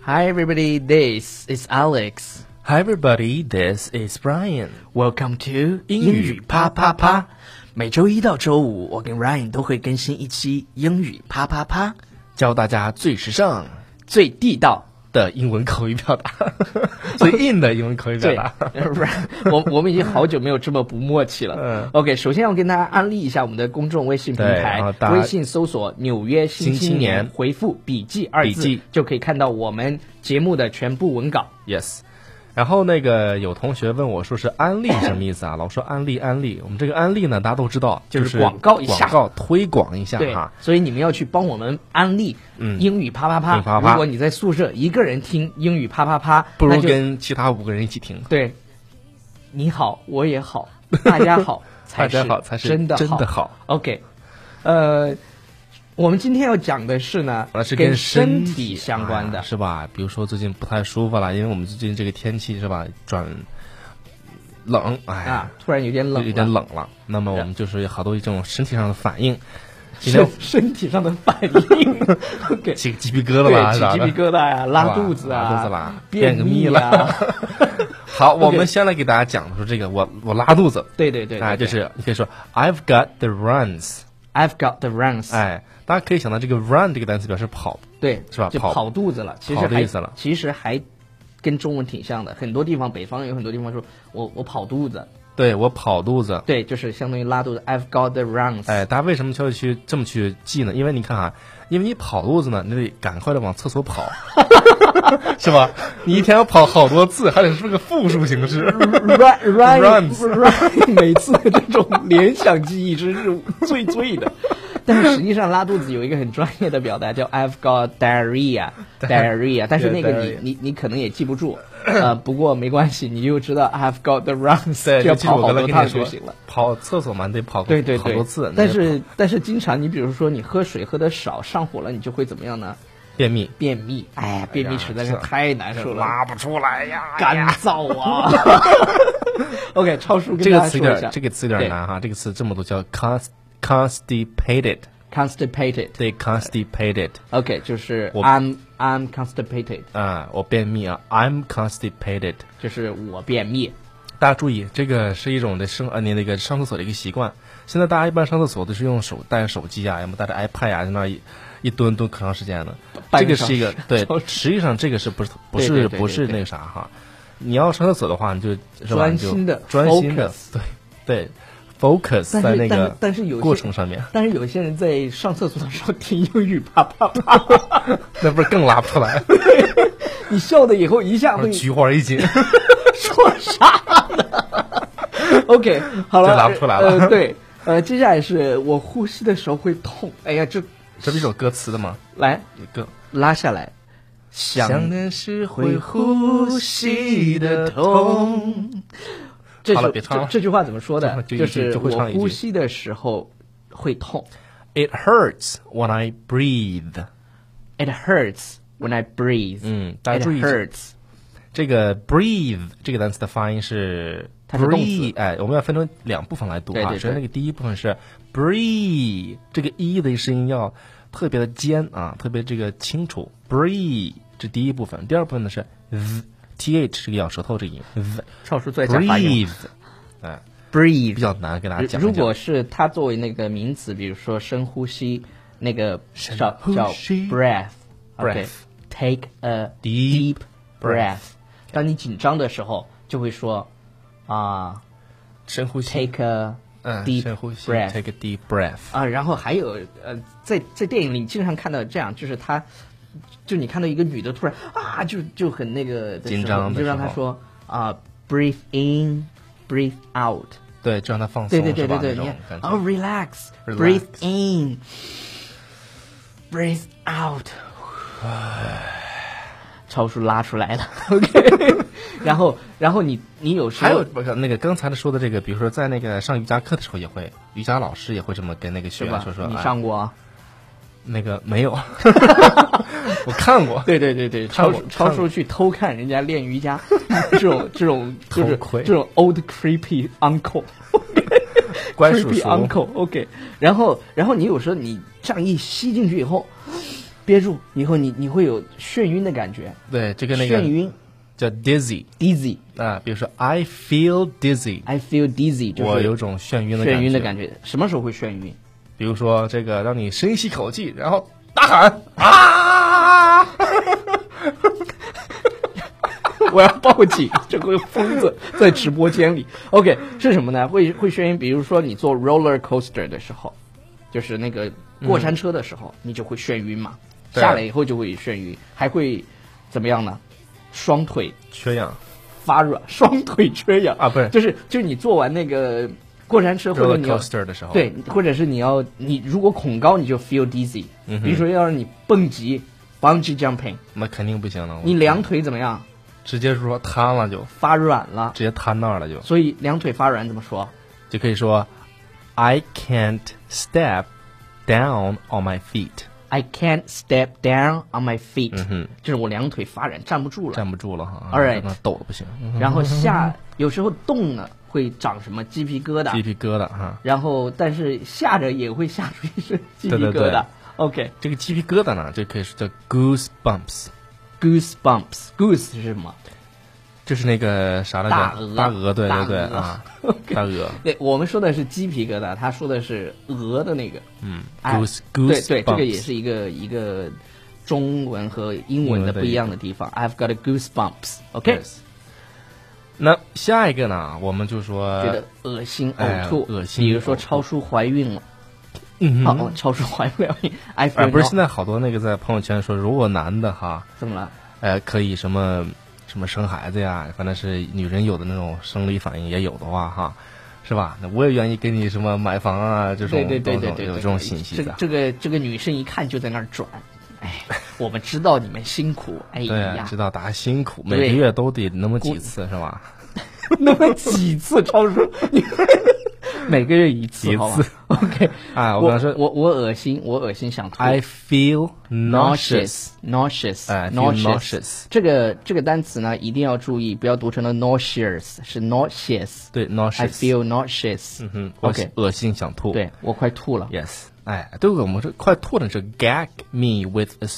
Hi everybody, this is Alex. Hi everybody, this is Brian. Welcome to 英语啪啪啪。 每周一到周五，我跟 Ryan 都会更新一期英语啪啪啪， 教大家最时尚、 最地道的英文口语表达，最硬的英文口语表达。 我们已经好久没有这么不默契了。OK， 首先要跟大家安利一下我们的公众微信平台，微信搜索纽约新青年，回复笔记2字就可以看到我们节目的全部文稿。 Yes。然后有同学问我说是安利什么意思啊？老说安利，我们这个安利呢，大家都知道， 就是广告一下， 广告推广一下哈。所以你们要去帮我们安利英语啪啪啪。如果你在宿舍一个人听英语啪啪啪， 不如跟其他5个人一起听。 对，你好，我也好，大家好，才是真的好。OK， 我们今天要讲的是呢， 是跟身体相关的， 是吧？比如说最近不太舒服了，因为我们最近这个天气是吧，转冷， 突然有点冷了。那么我们就是有好多这种身体上的反应， 身体上的反应，OK， 起鸡皮疙瘩吧， 起鸡皮疙瘩呀，拉肚子啦， 便秘了。好，我们先来给大家讲说这个，我拉肚子， 对， 就是你可以说 I've got the runs。I've got the runs， 大家可以想到这个 run 这个单词表示跑， 对， 是吧？ 就跑肚子了，其实还跟中文挺像的。很多地方，北方有很多地方说我跑肚子， 对，我跑肚子， 对，就是相当于拉肚子。I've got the runs。 大家为什么就要这么去记呢？因为你看因为你跑肚子呢，你得赶快的往厕所跑，是吧？你一天要跑好多次，还得是个复数形式。 runs， 每次的这种联想记忆真是最的。但是实际上拉肚子有一个很专业的表达叫 I've got diarrhea， 但是那个你可能也记不住，不过没关系，你就知道 I've got the runs， 就要跑好多趟就行了。 跑厕所嘛，得跑好多次。 但是经常你比如说你喝水喝的少，上火了，你就会怎么样呢？ 便秘， 便秘实在是太难受了， 拉不出来呀， 干燥啊。OK， 超叔跟大家说一下， 这个词有点难哈，这个词这么多叫 constipated， 对 constipated。 OK， 就是 I'm constipated， 我便秘啊 I'm constipated， 就是我便秘。 大家注意，这个是一种你那个上厕所的一个习惯。现在大家一般上厕所都是用带着手机啊，要么带着 iPad 啊，在那一蹲可长时间的。这个是一个对，实际上这个是不是那个啥哈？你要上厕所的话，你就专心的对 focus 在那个过程上面。 但是有些人在上厕所的时候听英语啪啪啪， 那不是更拉不出来？ 你笑的以后一下会菊花一紧。 说啥呢？OK， 好了， 拉不出来了。 对，接下来是我呼吸的时候会痛。哎呀，这是一首歌词的吗？ 来，拉下来。 想念是会呼吸的痛。好了，别唱了。 这句话怎么说的？就是我呼吸的时候会痛。 It hurts when I breathe. It hurts when I breathe. 大家注意 It hurts。 这个 breathe 这个单词的发音是 breathe， 我们要分成2部分来读啊。首先那个第一部分是 breathe， 这个 e 的声音要特别的尖啊，特别这个清楚。breathe 这第一部分，第二部分呢是 th 是个咬舌头这个音。 超叔再讲发音。breathe 比较难给大家讲。 如果是它作为那个名词，比如说深呼吸，那个叫 breath。OK，take a deep breath。当你紧张的时候，就会说深呼吸 ，take a deep breath，take a deep breath。 然后还有在电影里经常看到这样，就是就你看到一个女的突然就很那个紧张， 你就让她说breathe in breathe out， 对，就让她放松， 对，relax，breathe in breathe out。超叔拉出来了 ，OK， 然后你有时候还有那个刚才说的这个，比如说在那个上瑜伽课的时候也会，瑜伽老师也会这么跟那个学员说。 你上过？ 那个没有，我看过。 对，超叔去偷看人家练瑜伽，这种就是这种 old creepy uncle， 乖叔叔 creepy uncle，OK， 然后你有时候你这样一吸进去以后。 憋住，以后你会有眩晕的感觉。 对，这个那个眩晕叫 dizzy 啊，比如说 I feel dizzy，I feel dizzy， 就是我有种眩晕的感觉。什么时候会眩晕？ 比如说这个，让你深吸口气，然后大喊啊！ 我要报警！这个疯子在直播间里。OK， 是什么呢？会眩晕。比如说你坐 roller coaster 的时候，就是那个过山车的时候，你就会眩晕嘛。下来以后就会眩晕，还会怎么样呢？双腿缺氧、 发软，双腿缺氧啊，不是， 就是你坐完那个过山车或者你要 coaster 的时候， 对，或者是你如果恐高，你就 feel dizzy。比如说要是你蹦极 bungee jumping， 那肯定不行了。 你两腿怎么样？ 直接说瘫了就发软了， 直接瘫那儿了就。 所以两腿发软怎么说？ 就可以说 I can't step down on my feet。I can't step down on my feet，就是我两腿发软，站不住了哈。 All right， 抖的不行。 然后有时候动呢会长什么鸡皮疙瘩哈。 然后但是吓着也会吓出一身鸡皮疙瘩。 对 OK， 这个鸡皮疙瘩呢，就可以说叫 goosebumps。goose 是什么？ 就是那个啥来着？大鹅，对啊，大鹅。 对，我们说的是鸡皮疙瘩，他说的是鹅的那个。 goose， 对，这个也是一个中文和英文的不一样的地方。I've got a goosebumps。OK， 那下一个呢？我们就说觉得恶心、呕吐， 恶心。 比如说超叔怀孕了。好，超叔怀不了孕。 不是现在好多那个在朋友圈说，如果男的哈， 怎么了？ 可以什么生孩子呀，反正是女人有的那种生理反应也有的话哈，是吧？那我也愿意给你什么买房啊，这种对有这种信息的。 这个女生一看就在那儿转，哎，我们知道你们辛苦，哎呀， 对，知道大家辛苦，每个月都得那么几次是吧？ 那么几次，超叔，每个月一次，OK。 啊，我刚说， 我恶心想吐。 I feel nauseous。 这个单词呢，一定要注意，不要读成了 nauseous， 是 nauseous。 对 ，nauseous。I feel nauseous。 OK， 恶心想吐。 对，我快吐了。 Yes。对，我们这快吐的是 gag me with a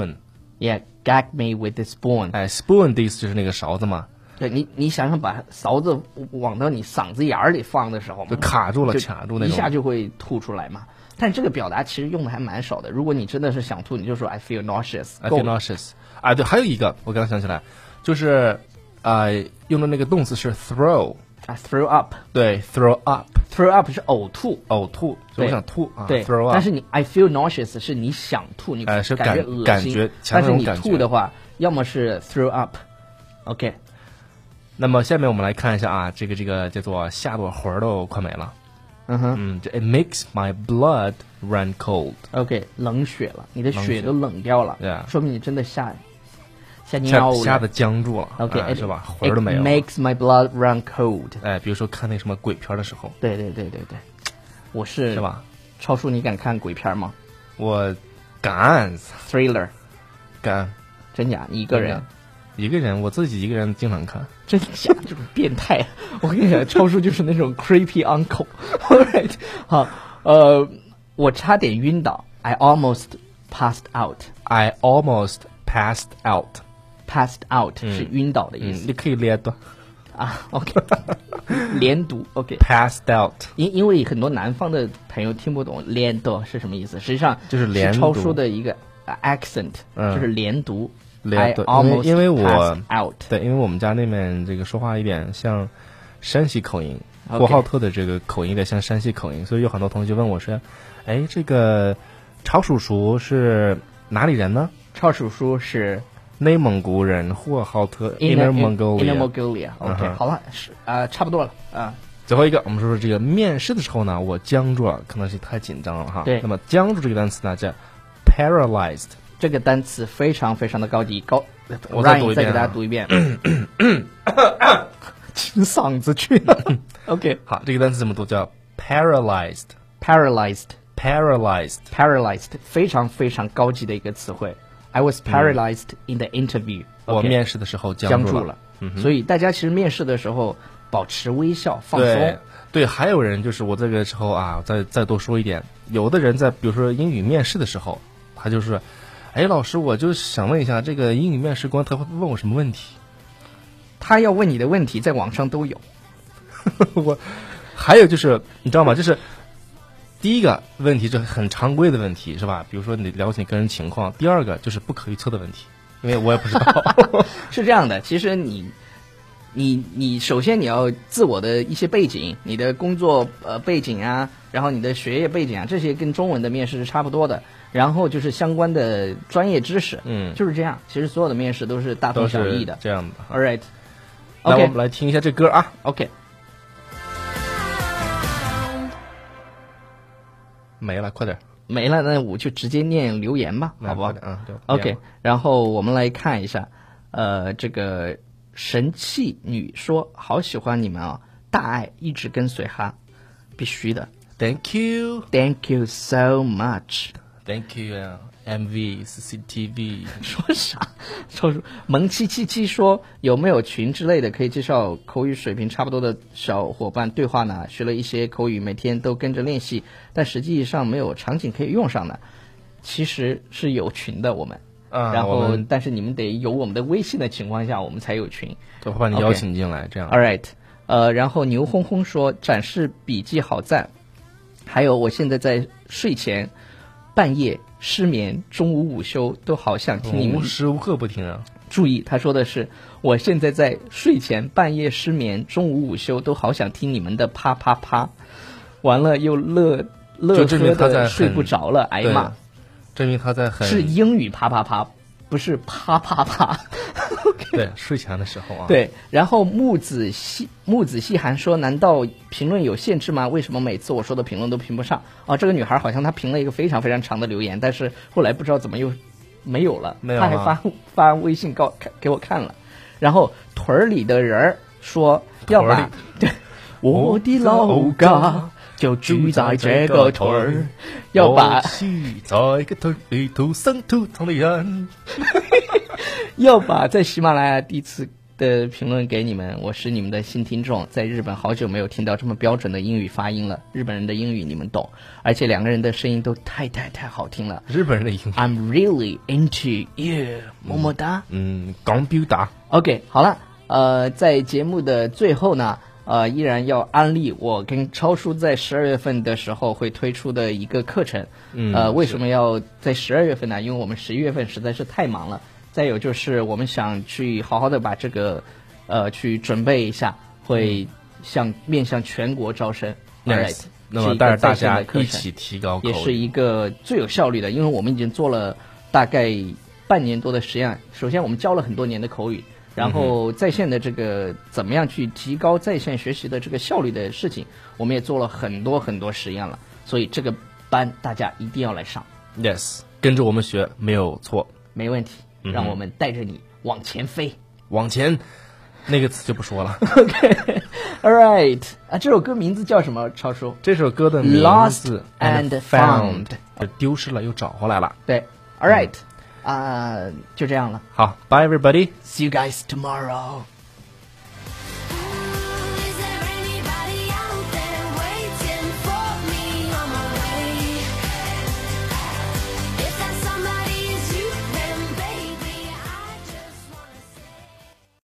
spoon。 Yeah，gag me with a spoon。 spoon 的意思就是那个勺子嘛。 对，你想想把勺子往到你嗓子眼里放的时候， 就卡住了，卡住那种， 一下就会吐出来嘛。但这个表达其实用的还蛮少的。如果你真的是想吐，你就说 I feel nauseous。I feel nauseous。啊，对，还有一个我刚刚想起来，就是用的那个动词是 throw。throw up。 对 ，throw up。throw up 是呕吐， 我想吐啊。 对 ，throw up。 但是你 I feel nauseous 是你想吐，你是感觉恶心。但是你吐的话，要么是 throw up。OK。 那么下面我们来看一下啊，这个叫做吓得我魂儿都快没了。这 It makes my blood run cold。OK， 冷血了，你的血都冷掉了，说明你真的吓尿了， 吓得僵住了。 OK， 是吧？魂儿都没有。 It makes my blood run cold。 比如说看那什么鬼片的时候。 对，我是吧？ 超叔，你敢看鬼片吗？ 我敢。 Thriller。 敢。 真假？你一个人？ 我自己一个人经常看。 真假？这种变态！我跟你讲，超叔就是那种 creepy uncle。Alright， 好，我差点晕倒 ，I almost passed out。I almost passed out。passed out 是晕倒的意思。 你可以连读啊 ，OK， 连读 ，OK。passed out， 因为很多南方的朋友听不懂连读是什么意思，实际上就是连读， 超叔的一个 accent，就是连读。 因为我 out， 对，因为我们家那边这个说话有点像山西口音，呼和浩特的这个口音有点像山西口音，所以有很多同学问我说：“哎，这个超叔叔是哪里人呢？” 超叔叔是内蒙古人，呼和浩特 Inner Mongolia。OK， 好了，差不多了啊。 最后一个，我们说这个面试的时候呢，我僵住了，可能是太紧张了哈。 对， 那么僵住这个单词呢叫 paralyzed。 这个单词非常非常的高级， 我再读一遍， 再给大家读一遍，清嗓子去了。OK， 好，这个单词怎么读？叫 paralyzed， 非常非常高级的一个词汇。I was paralyzed in the interview。 我面试的时候僵住了。 所以大家其实面试的时候保持微笑，放松。 对，还有人就是我这个时候啊，再多说一点，有的人在比如说英语面试的时候，他就是哎，老师，我就想问一下，这个英语面试官他会问我什么问题？ 他要问你的问题在网上都有。 我还有就是你知道吗？就是第一个问题是很常规的问题，是吧？比如说你了解你个人情况。第二个就是不可预测的问题，因为我也不知道。 是这样的，其实你首先你要自我的一些背景，你的工作背景啊，然后你的学业背景啊，这些跟中文的面试是差不多的。然后就是相关的专业知识，就是这样。其实所有的面试都是大同小异的， 这样的。 All right， 那我们来听一下这歌啊。 OK， 没了，快点。 没了，那我就直接念留言吧，好不好？OK， 然后我们来看一下，这个神气女说：“好喜欢你们啊，大爱一直跟随哈，必须的。” Thank you, Thank you so much. Thank you, MV CCTV。 说啥？说萌777说有没有群之类的可以介绍口语水平差不多的小伙伴对话呢？学了一些口语，每天都跟着练习，但实际上没有场景可以用上的。其实是有群的，我们。然后但是你们得有我们的微信的情况下，我们才有群。 我会把你邀请进来，这样。 All right， 然后牛轰轰说展示笔记好赞，还有我现在在睡前。半夜失眠，中午午休都好想听你们， 无时无刻不听啊！ 注意，他说的是我现在在睡前，半夜失眠，中午午休都好想听你们的啪啪啪，完了又乐呵的睡不着了，挨骂。 证明他在是英语啪啪啪，不是啪啪啪。 对，睡前的时候啊。 对，然后木子细寒说：“难道评论有限制吗？为什么每次我说的评论都评不上？”哦，这个女孩好像她评了一个非常非常长的留言，但是后来不知道怎么又没有了。她还发微信给我看了。然后屯儿里的人说要把我的老家就住在这个屯儿，要把在个屯里土生土长的人。 要把在喜马拉雅第一次的评论给你们，我是你们的新听众，在日本好久没有听到这么标准的英语发音了，日本人的英语你们懂，而且两个人的声音都太好听了。 日本人的英语 I'm really into you， 么么哒。 刚表达。 OK， 好了，在节目的最后呢，依然要安利我跟超叔在12月份的时候会推出的一个课程。为什么要在12月份呢？因为我们11月份实在是太忙了。再有就是我们想去好好的把这个去准备一下，会面向全国招生。 Right， 那么带着大家一起提高口语， 也是一个最有效率的，因为我们已经做了大概半年多的实验。首先我们教了很多年的口语，然后在线的这个怎么样去提高在线学习的这个效率的事情，我们也做了很多实验了。所以这个班大家一定要来上。 Yes， 跟着我们学没有错， 没问题。让我们带着你往前飞， 往前，那个词就不说了。 OK，All right， 这首歌名字叫什么？超叔， 这首歌的名字 Lost and Found， 丢失了又找回来了。 对 ，All right，就这样了。 好 ，Bye everybody， See you guys tomorrow。